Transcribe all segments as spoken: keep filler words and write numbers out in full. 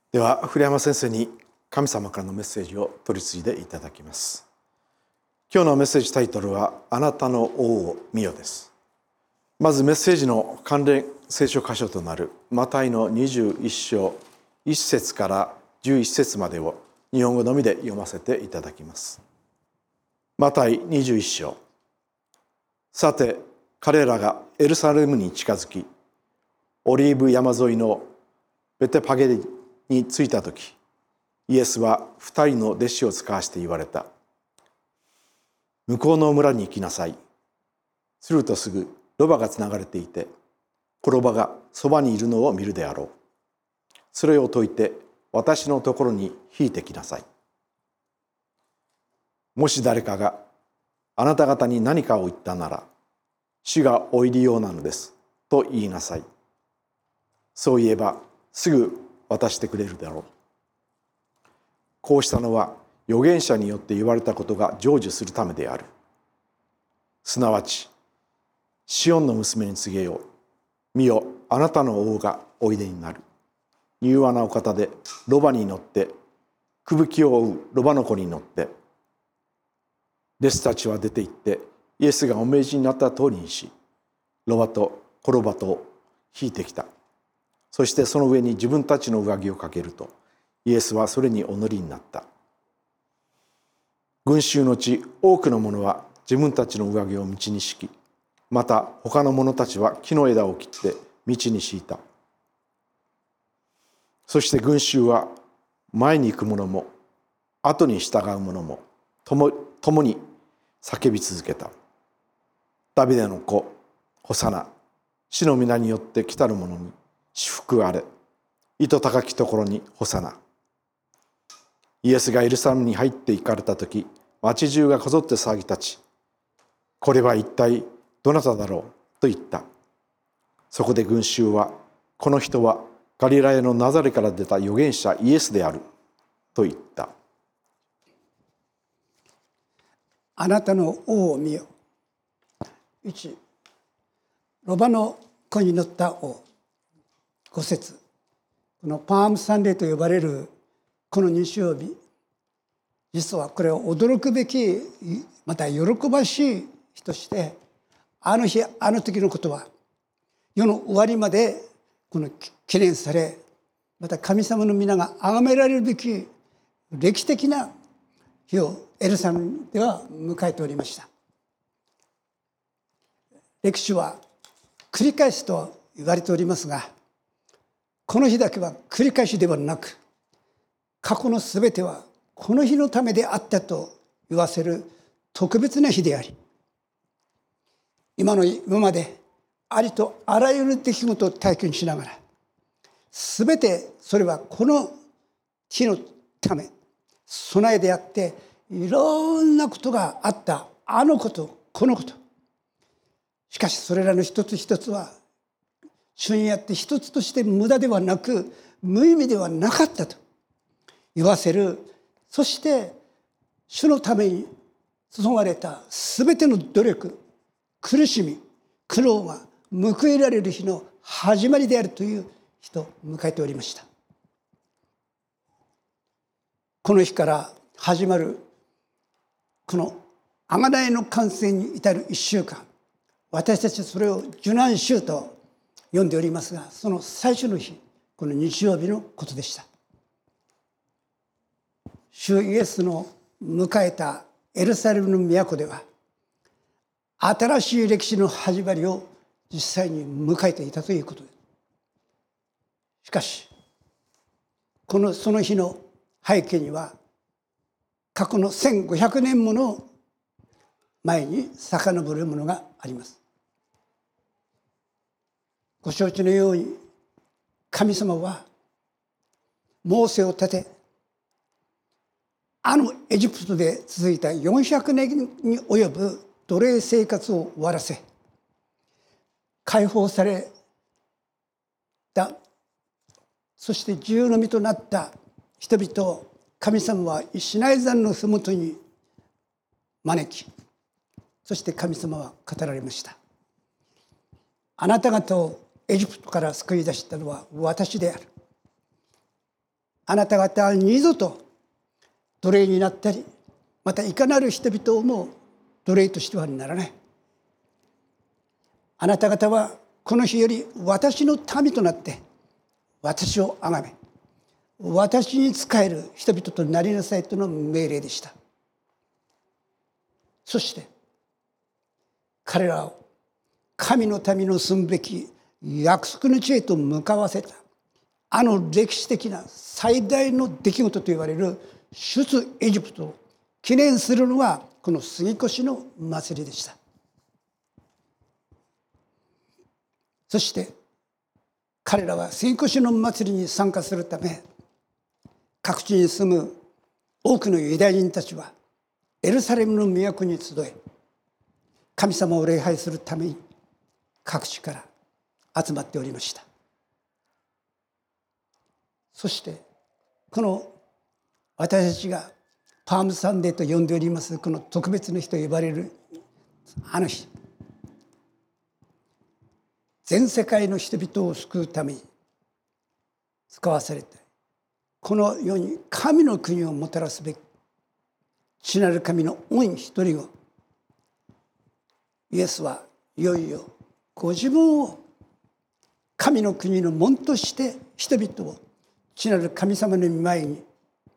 では古山先生に神様からのメッセージを取り次いでいただきます。今日のメッセージタイトルはあなたの王を見よです。まずメッセージの関連聖書箇所となるマタイのにじゅういっ章いっ節からじゅういち節までを日本語のみで読ませていただきます。マタイにじゅういっ章。さて彼らがエルサレムに近づき、オリーブ山沿いのベテパゲに着いたとき、イエスは二人の弟子を使わして言われた。向こうの村に行きなさい。するとすぐロバがつながれていて、子ロバがそばにいるのを見るであろう。それを解いて私のところに引いてきなさい。もし誰かがあなた方に何かを言ったなら、主がお入りようなのですと言いなさい。そう言えばすぐ渡してくれるだろう。こうしたのは預言者によって言われたことが成就するためである。すなわち、シオンの娘に告げよう。見よ、あなたの王がおいでになる。柔和なお方でロバに乗って、吹雪を追うロバの子に乗って。弟子たちは出て行って、イエスがお命じになった通りにし、ロバと子ロバとを引いてきた。そしてその上に自分たちの上着をかけると、イエスはそれにお乗りになった。群衆のうち多くの者は自分たちの上着を道に敷き、また他の者たちは木の枝を切って道に敷いた。そして群衆は前に行く者も後に従う者も共共に叫び続けた。ダビデの子、ホサナ、主の皆によって来たる者に祝福あれ。糸高きところにホサナ。イエスがエルサレムに入って行かれたとき、町中がこぞって騒ぎ立ち、これは一体どなただろうと言った。そこで群衆は、この人はガリラヤのナザレから出た預言者イエスであると言った。 あなたの王を見よ。いち、ロバの子に乗った王。ご節、このパームサンデーと呼ばれるこの日曜日、実はこれは驚くべき、また喜ばしい日として、あの日あの時のことは世の終わりまでこの記念され、また神様の皆が崇められるべき歴史的な日をエルサレムでは迎えておりました。歴史は繰り返すと言われておりますが、この日だけは繰り返しではなく、過去のすべてはこの日のためであったと言わせる特別な日であり、今の今までありとあらゆる出来事を体験しながら、すべてそれはこの日のため備えであって、いろんなことがあった、あのことこのこと。しかしそれらの一つ一つは主にあって一つとして無駄ではなく無意味ではなかったと言わせる。そして主のために注がれたすべての努力、苦しみ、苦労が報いられる日の始まりであるという日と迎えておりました。この日から始まるこの贖いの完成に至る一週間、私たちはそれを受難週と呼んでおりますが、その最初の日、この日曜日のことでした。主イエスの迎えたエルサレムの都では、新しい歴史の始まりを実際に迎えていたということです。しかし、このその日の背景には、過去のせんごひゃくねんもの前に遡るものがあります。ご承知のように、神様はモーセを立て、あのエジプトで続いたよんひゃくねんに及ぶ奴隷生活を終わらせ、解放された、そして自由の身となった人々を神様はシナイ山のふもとに招き、そして神様は語られました。あなた方をエジプトから救い出したのは私である。 あなた方は二度と奴隷になったり、またいかなる人々をも奴隷としてはならない。あなた方はこの日より私の民となって私を崇め、私に仕える人々となりなさいとの命令でした。そして彼らを神の民の住むべき約束の地へと向かわせた、あの歴史的な最大の出来事と言われる出エジプトを記念するのはこの杉越の祭りでした。そして彼らは杉越の祭りに参加するため、各地に住む多くのユダヤ人たちはエルサレムの都に集え、神様を礼拝するために各地から集まっておりました。そしてこの私たちがパームサンデーと呼んでおりますこの特別な日と呼ばれるあの日、全世界の人々を救うために使わされて、この世に神の国をもたらすべき父なる神の御一人を、イエスはいよいよご自分を神の国の門として人々を父なる神様の御前に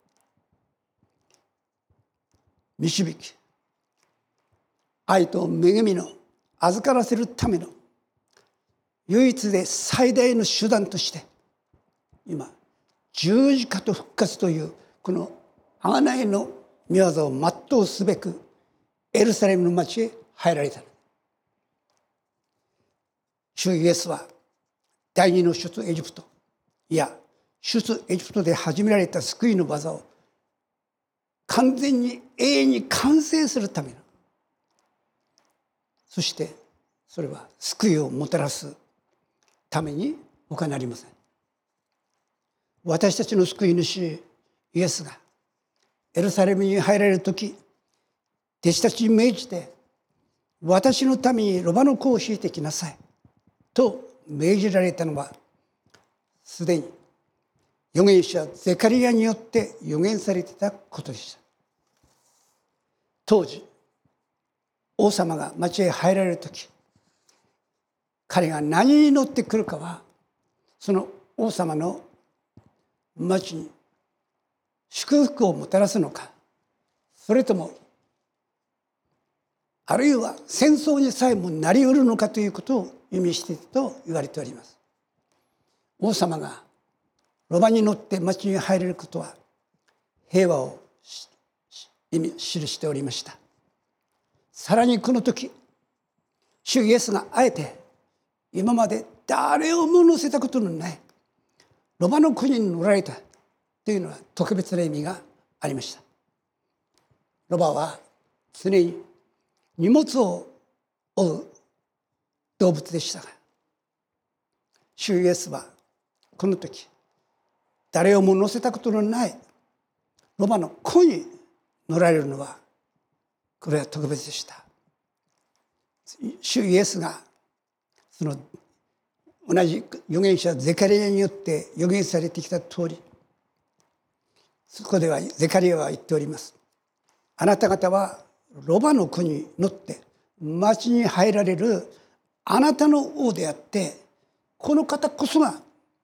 導き、愛と恵みの預からせるための唯一で最大の手段として今十字架と復活というこの贖いの御業を全うすべくエルサレムの町へ入られたの。主イエスは第二の出エジプト、いや出エジプトで始められた救いの技を完全に永遠に完成するための、そしてそれは救いをもたらすために他なりません。私たちの救い主イエスがエルサレムに入られる時、弟子たちに命じて、私のためにロバの子を引いてきなさいと命じられたのは、すでに預言者ゼカリヤによって預言されていたことでした。当時王様が町へ入られる時、彼が何に乗ってくるかは、その王様の町に祝福をもたらすのか、それともあるいは戦争にさえもなりうるのかということを意味していると言われております。王様がロバに乗って町に入れることは平和を意味記しておりました。さらにこの時、主イエスがあえて今まで誰をも乗せたことのないロバの国に乗られたというのは特別な意味がありました。ロバは常に荷物を負う動物でしたが、主イエスはこの時誰をも乗せたことのないロバの子に乗られるのは、これは特別でした。主イエスがその同じ預言者ゼカリヤによって預言されてきた通り、そこではゼカリヤは言っております。あなた方はロバの子に乗って町に入られるあなたの王であって、この方こそが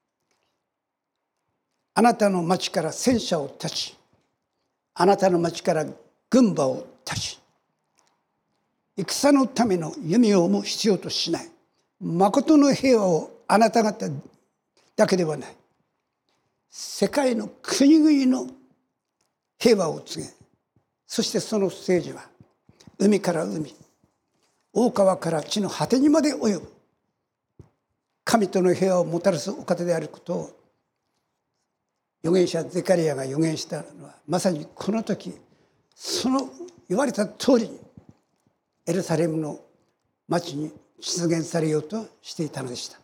あなたの町から戦車を立ち、あなたの町から軍馬を立ち、戦のための弓をも必要としない、誠の平和をあなた方だけではない、世界の国々の平和を告げ、そしてその政治は海から海、大川から地の果てにまで及ぶ神との平和をもたらすお方であることを預言者ゼカリヤが預言したのは、まさにこの時その言われた通りにエルサレムの町に実現されようとしていたのでした。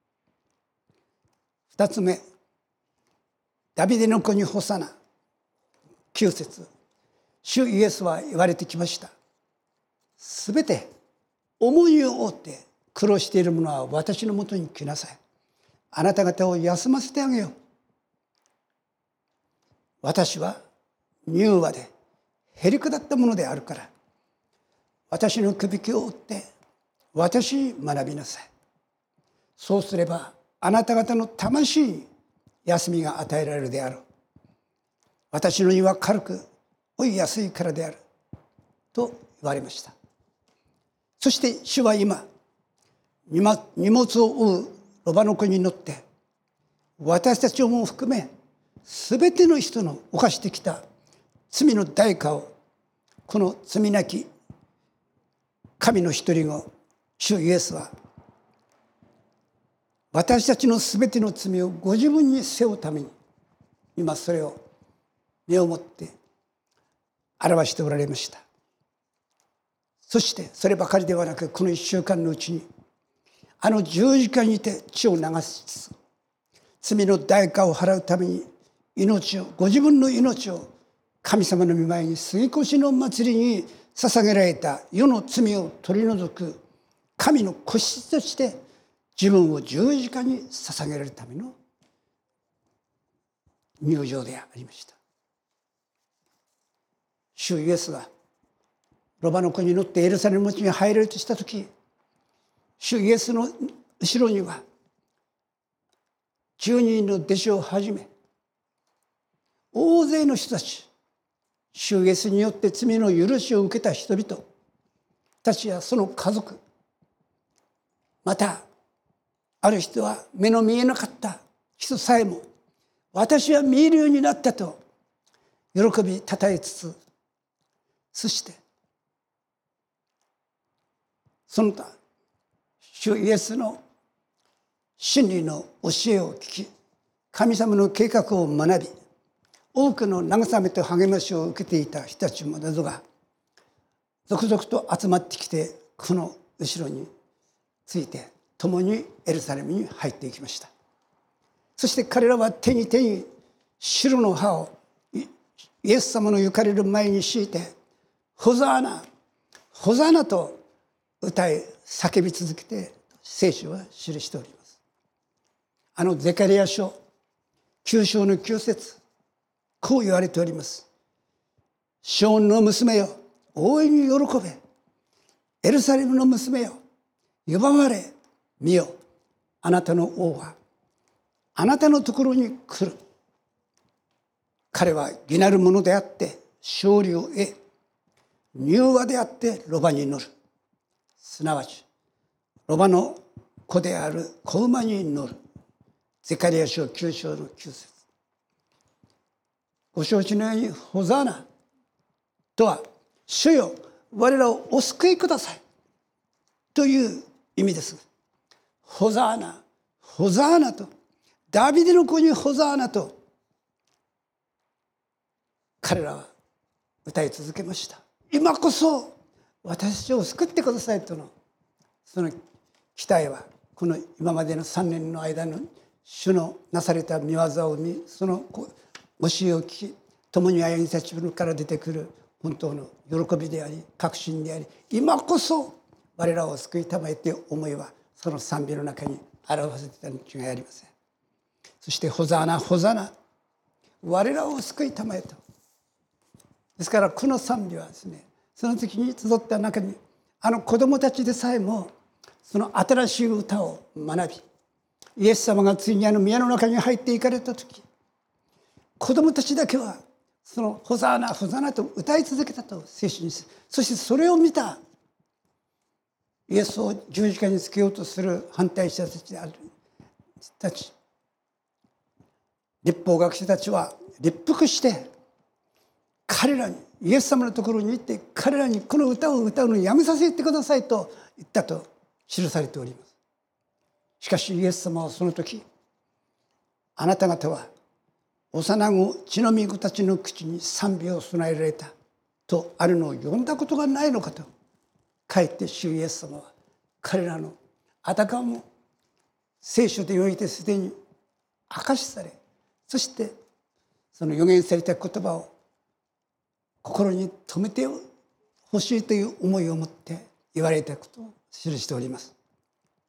二つ目、ダビデの子にホサナ。九節、主イエスは言われてきました。すべて重荷を負って苦労している者は私のもとに来なさい。あなた方を休ませてあげよう。 私は柔和でへりくだったものであるから、私のくびきを追って私に学びなさい。そうすればあなた方の魂に休みが与えられるであろう。私の荷は軽く追いやすいからであると言われました。そして主は今、荷物を追うロバの子に乗って私たちをも含めすべての人の犯してきた罪の代価を、この罪なき神の一人子主イエスは私たちのすべての罪をご自分に背負うために今それを目をもって表しておられました。そしてそればかりではなく、この一週間のうちにあの十字架にて血を流しつつ罪の代価を払うために命をご自分の命を神様の御前に杉越の祭りに捧げられた世の罪を取り除く神の子羊として自分を十字架に捧げられるための入場でありました。主イエスがロバの子に乗ってエルサレム町に入れるとしたとき、主イエスの後ろにはじゅうにんの弟子をはじめ大勢の人たち、主イエスによって罪の許しを受けた人々たちやその家族、またある人は目の見えなかった人さえも私は見えるようになったと喜びたたえつつ、そしてその他主イエスの真理の教えを聞き、神様の計画を学び、多くの慰めと励ましを受けていた人たちもなどが続々と集まってきて、この後ろについて共にエルサレムに入っていきました。そして彼らは手に手に白の葉をイエス様の行かれる前に敷いて、ホザーナホザーナと歌い叫び続けて聖書は記しております。あのゼカリヤ書きゅう章のきゅう節、こう言われております。シオンの娘よ、大いに喜べ。エルサレムの娘よ、呼ばわれ。見よ、あなたの王はあなたのところに来る。彼は義なるものであって勝利を得、柔和であってロバに乗る。すなわちロバの子である子馬に乗る。ゼカリヤ書きゅう章のきゅう節。ご承知のようにホザーナとは、主よ我らをお救いくださいという意味です。ホザーナホザーナと、ダビデの子にホザーナと彼らは歌い続けました。今こそ私を救ってくださいとのその期待は、この今までのさんねんの間の主のなされた御業を見、その教えを聞き、共に歩みたちから出てくる本当の喜びであり確信であり、今こそ我らを救いたまえという思いはその賛美の中に表せていたに違いありません。そしてホザーナホザーナ、我らを救いたまえと。ですからこの賛美はですね、その時に集った中にあの子供たちでさえもその新しい歌を学び、イエス様がついにあの宮の中に入っていかれた時、子供たちだけはそのホザーナホザーナと歌い続けたと聖書にする。そしてそれを見たイエスを十字架につけようとする反対者たちである人たち、律法学者たちは立腹して彼らに、イエス様のところに行って彼らにこの歌を歌うのをやめさせてくださいと言ったと記されております。しかしイエス様はその時、あなた方は幼子血のみ子たちの口に賛美を備えられたとあるのを読んだことがないのかと、かえって主イエス様は彼らのあたかも聖書でおいてすでに明かしされ、そしてその預言された言葉を心に留めてほしいという思いを持って言われたことを記しております。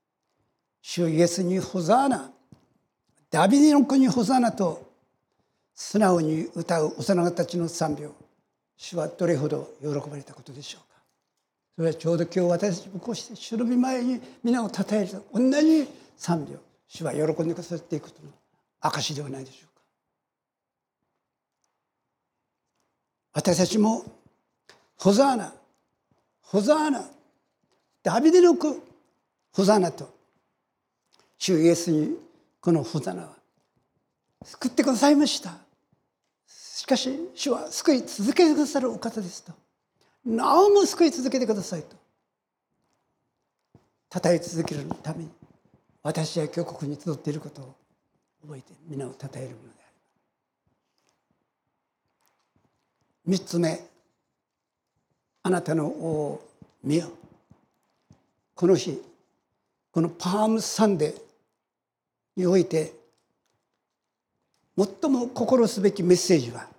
主イエスにホザーナ、ダビデの子にホザーナと素直に歌う幼子たちの賛美を主はどれほど喜ばれたことでしょうか。それはちょうど今日私たちもこうして主の御前に皆を称える同じ賛美を主は喜んでくださっていくことの証ではないでしょうか。私たちもホザーナ、ホザーナ、ダビデの子ホザーナと主イエスにこのホザーナは救ってくださいました。しかし主は救い続けてくださるお方ですと、なおも救い続けてくださいと称え続けるために私は今日ここに集っていることを覚えて皆を称えるものである。三つ目、あなたの王を見よ。この日このパームサンデーにおいて最も心すべきメッセージは、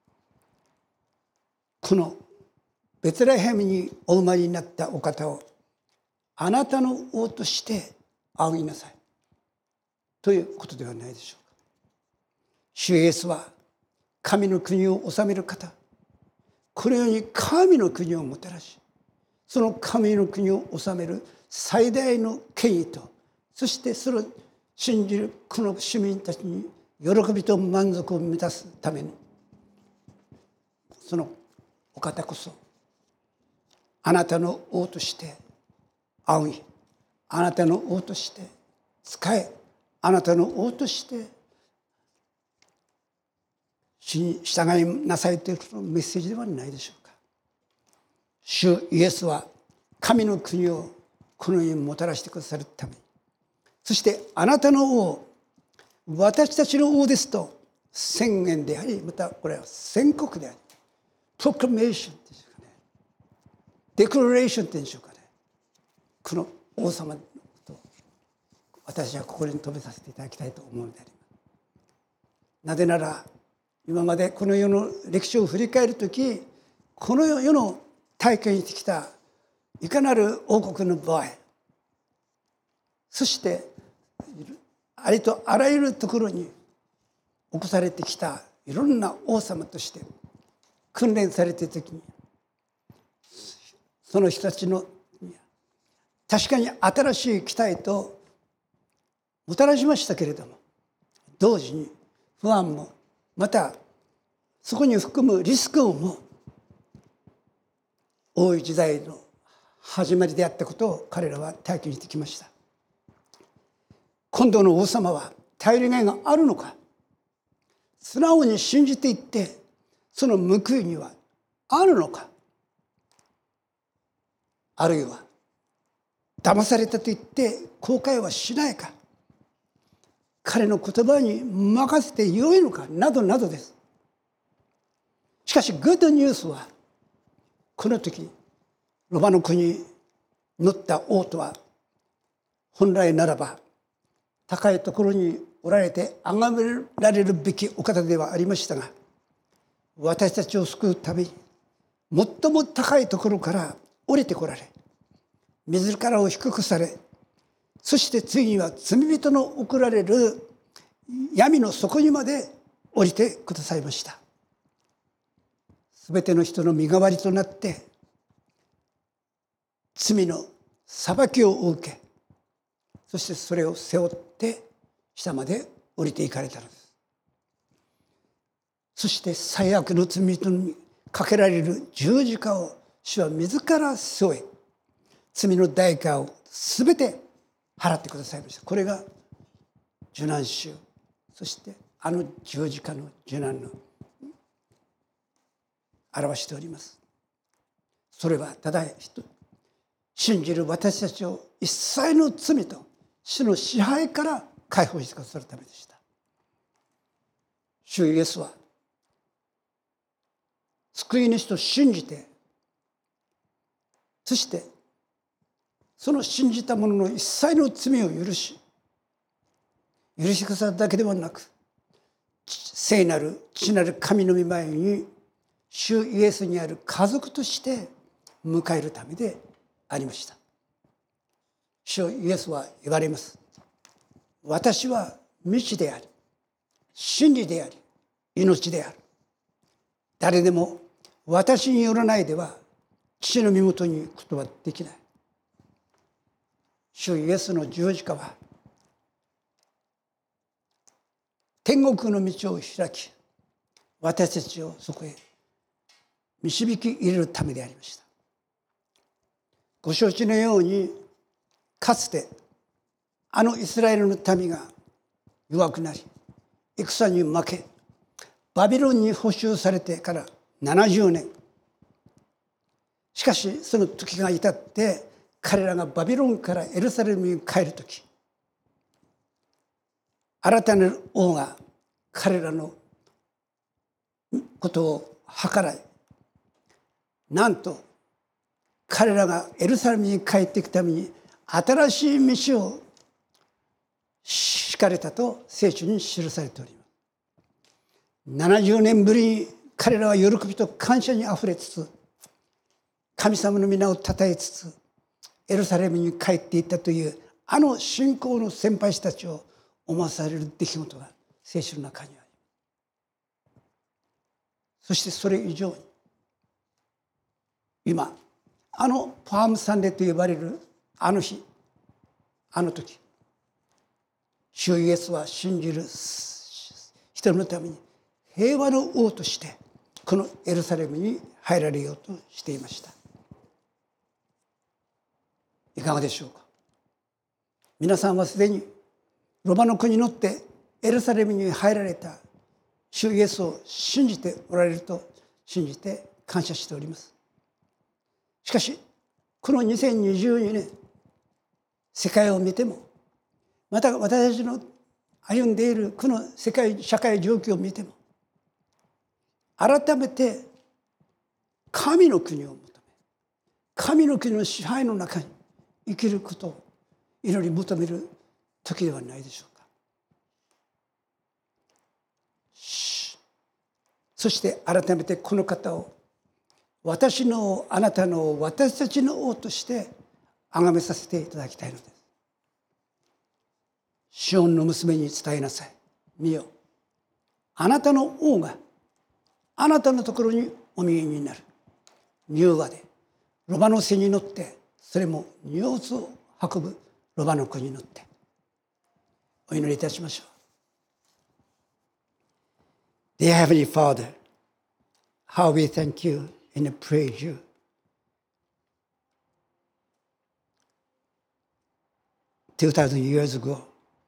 このベツレヘムにお生まれになったお方をあなたの王として仰ぎなさいということではないでしょうか。主イエスは神の国を治める方、このように神の国をもたらし、その神の国を治める最大の権威と、そしてそれを信じるこの市民たちに喜びと満足を満たすために、そのお方こそあなたの王として仰ぎ、あなたの王として仕え、あなたの王として主に従いなさいというメッセージではないでしょうか。主イエスは神の国をこの世にもたらしてくださるために、そしてあなたの王、私たちの王ですと宣言であり、またこれは宣告であり、プロクラメーションっていうんでしょうかね、デクラレーションっていうんでしょうかね、この王様のことを私はここに述べさせていただきたいと思うのであります。なぜなら今までこの世の歴史を振り返るとき、この世の体験してきたいかなる王国の場合、そしてありとあらゆるところに起こされてきたいろんな王様として訓練されているときに、その人たちの確かに新しい期待ともたらしましたけれども、同時に不安も、またそこに含むリスクをも多い時代の始まりであったことを彼らは体験してきました。今度の王様は頼りがいがあるのか、素直に信じていってその報いにはあるのか、あるいは騙されたと言って後悔はしないか、彼の言葉に任せてよいのかなどなどです。しかしグッドニュースは、この時ロバの国に乗った王とは本来ならば高いところにおられて崇められるべきお方ではありましたが、私たちを救うために最も高いところから降りてこられ、自らを低くされ、そしてついには罪人の送られる闇の底にまで降りてくださいました。すべての人の身代わりとなって罪の裁きを受け、そしてそれを背負って下まで降りていかれたのです。そして最悪の罪人にかけられる十字架を主は自ら背負い、罪の代価をすべて払ってくださいました。これが受難週、そしてあの十字架の受難の表しております。それはただ信じる私たちを一切の罪と死の支配から解放してくださるためでした。主イエスは救い主と信じて、そしてその信じた者の一切の罪を許し、許してくださるだけではなく、聖なる父なる神の御前に主イエスにある家族として迎えるためでありました。主イエスは言われます。私は道であり、真理であり、 命である。誰でも私によらないでは父の身元に行くことはできない。主イエスの十字架は天国の道を開き、私たちをそこへ導き入れるためでありました。ご承知のように、かつてあのイスラエルの民が弱くなり、戦に負け、バビロンに捕囚されてからななじゅうねん。しかしその時が至って彼らがバビロンからエルサレムに帰る時、新たなる王が彼らのことを計らい、なんと彼らがエルサレムに帰っていくために新しい道を敷かれたと聖書に記されております。ななじゅうねんぶりに彼らは喜びと感謝にあふれつつ、神様の皆をたたえつつエルサレムに帰っていったという、あの信仰の先輩たちを思わされる出来事が聖書の中にあります。そしてそれ以上に、今あのパームサンデーと呼ばれるあの日、あの時、主イエスは信じる人のために平和の王としてこのエルサレムに入られようとしていました。いかがでしょうか。皆さんはすでにロマの国に乗ってエルサレムに入られた主イエスを信じておられると信じて感謝しております。しかしこのにせんにじゅうにねん、世界を見ても、また私たちの歩んでいるこの世界社会状況を見ても、改めて神の国を求め、神の国の支配の中に生きることを祈り求める時ではないでしょうか。そして改めてこの方を私の王、あなたの王、私たちの王として崇めさせていただきたいのです。シオンの娘に伝えなさい。見よ、あなたの王があなたのところにお見えになる。柔和でロバの背に乗って、それも荷物を運ぶロバの子に乗ってお祈りいたしましょう。Dear Heavenly Father, how we thank you and praise you. Two thousand years ago,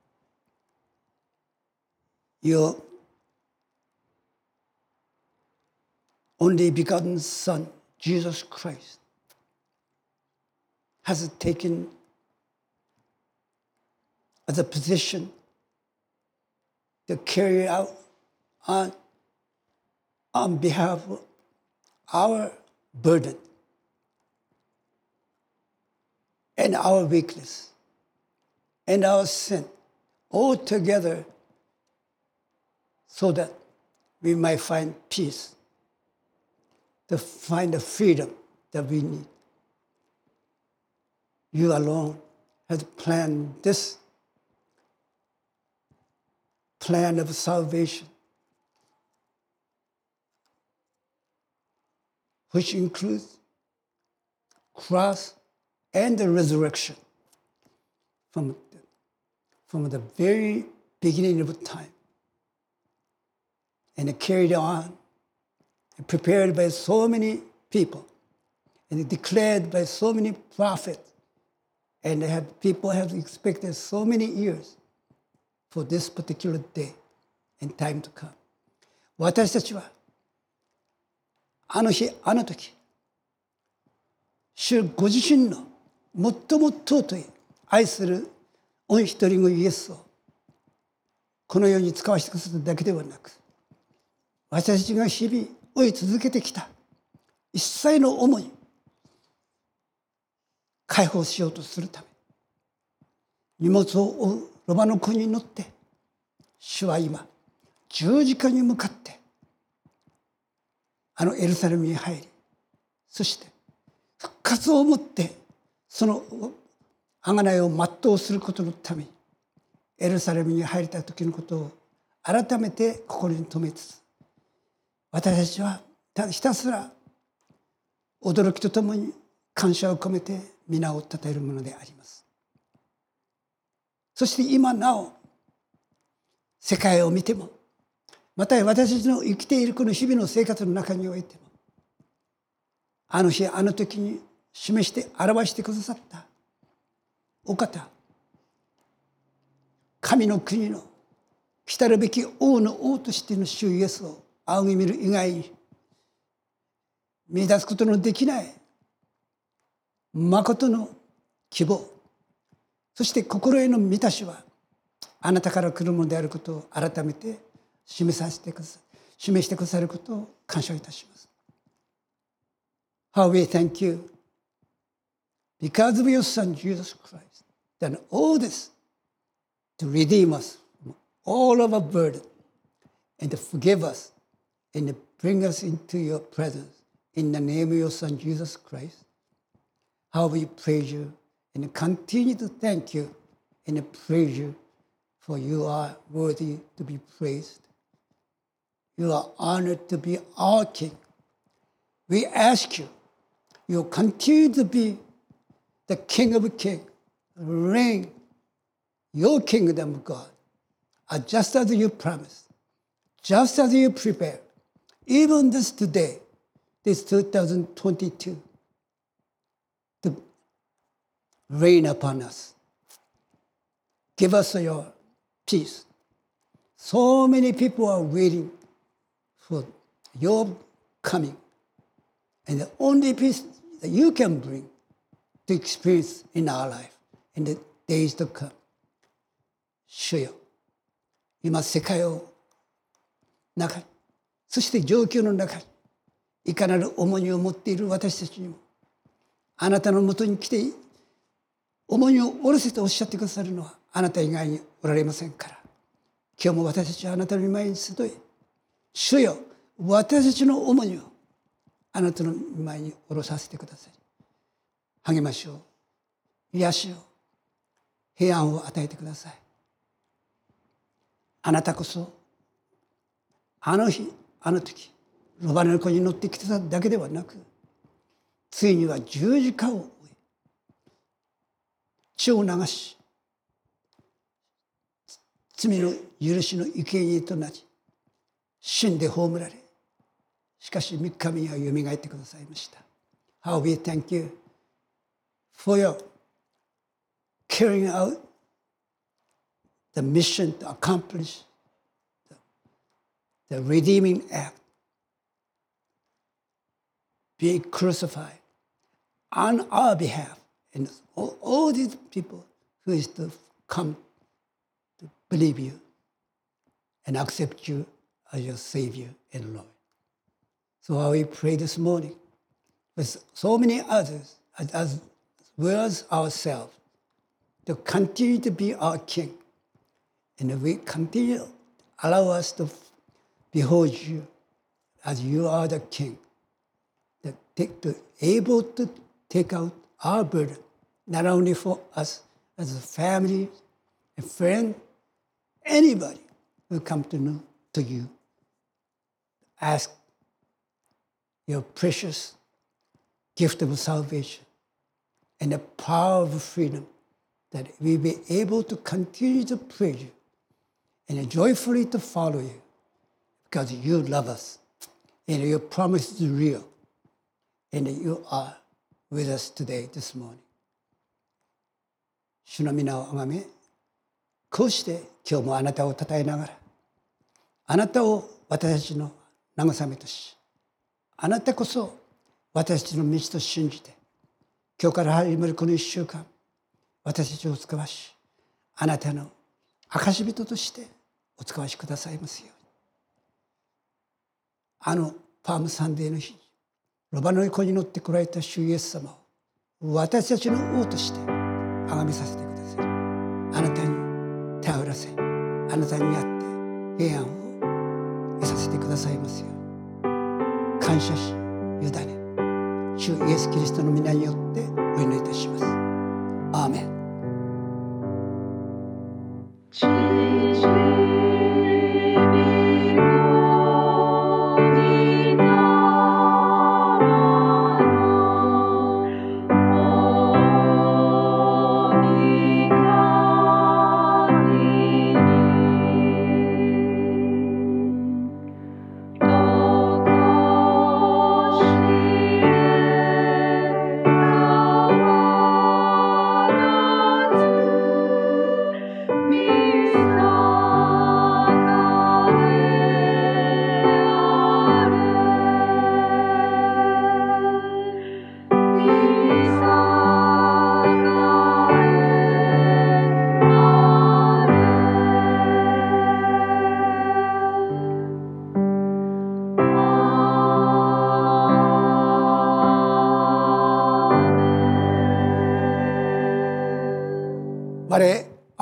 your only begotten Son, Jesus Christ, has taken as a position to carry out on, on behalf of our burden and our weakness and our sin all together, so that we might find peace, to find the freedom that we need. You alone have planned this plan of salvation, which includes cross and the resurrection from, from the very beginning of time, and carried on and prepared by so many people and declared by so many prophets, and have, people have expected so many years for this particular day and time to come. 私たちはあの日あの時、主ご自身の最も尊い愛する御一人子イエスをこの世に使わせてくださっただけではなく、私たちが日々追い続けてきた一切の思い解放しようとするため、荷物を追うロバの子に乗って主は今十字架に向かってあのエルサレムに入り、そして復活をもってその贖いを全うすることのためにエルサレムに入れた時のことを改めて心に留めつつ私たちはただひたすら驚きとともに感謝を込めて皆を称えるものであります。そして今なお世界を見ても、また私たちの生きているこの日々の生活の中においても、あの日あの時に示して表してくださったお方、神の国の来たるべき王の王としての主イエスを仰ぎ見る以外に見出すことのできない誠の希望、そして心への満たしはあなたから来るものであることを改めて示させてください示してくださることを感謝いたします。 How we thank you because of your Son Jesus Christ done all this to redeem us from all of our burden and to forgive us and to bring us into your presence in the name of your Son Jesus Christ. How we praise you and continue to thank you and praise you, for you are worthy to be praised. You are honored to be our King. We ask you, you continue to be the King of Kings, reign your kingdom, God, just as you promised, just as you prepared, even this today, this two thousand twenty-two, to reign upon us. Give us your peace. So many people are waiting for your coming, and the only peace that you can bring to experience in our life in the days to come. 主よ、今世界を中に、そして状況の中にいかなる重荷を持っている私たちにも、あなたのもとに来て重荷を下ろせとおっしゃってくださるのはあなた以外におられませんから、今日も私たちはあなたの御前に集い、主よ、私たちの重荷をあなたの御前に下ろさせてください。励ましを、癒しを、平安を与えてください。あなたこそあの日あの時ロバの子に乗ってきてただけではなく、ついには十字架を追い血を流し、罪の許しの生贄となり、死んで葬られ、しかし三日目にはよみがえってくださいました。 How we thank you for your carrying out the mission to accomplish the, the redeeming act, being crucified on our behalf, and all, all these people who is to come to believe you and accept you as your Savior and Lord. So how we pray this morning with so many others as, as well as ourselves to continue to be our King, and we continue to allow us to behold you as you are the King, that take to able to take out our burden, not only for us as a family, a friend, anybody who come to know to you. Ask your precious gift of salvation and the power of freedom, that we be able to continue to praise you and joyfully to follow you, because you love us and your promise is real, and you are with us today, this morning. 主の皆をあがめ、こうして今日もあなたを称えながら、あなたを私たちの慰めとし、あなたこそ私たちの道と信じて、今日から始まるこの一週間、私たちをお使わし、あなたの証人としてお使わしくださいますように。あのパームサンデーの日にロバの子に乗ってこられた主イエス様を私たちの王として崇めさせてください。あなたに頼らせ、あなたにあって平安を得させてくださいますように。感謝し委ね、主イエス・キリストの皆によってお祈りいたします。アーメン。Jesus.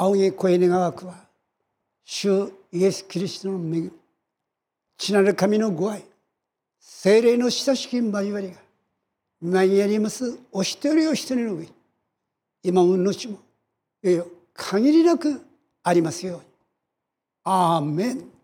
仰げ声願わくは、主イエス・キリストの恵み、父なる神のご愛、聖霊の親しき交わりが、今にありますお一人お一人の上に、今も後も、いよいよ限りなくありますように。アーメン。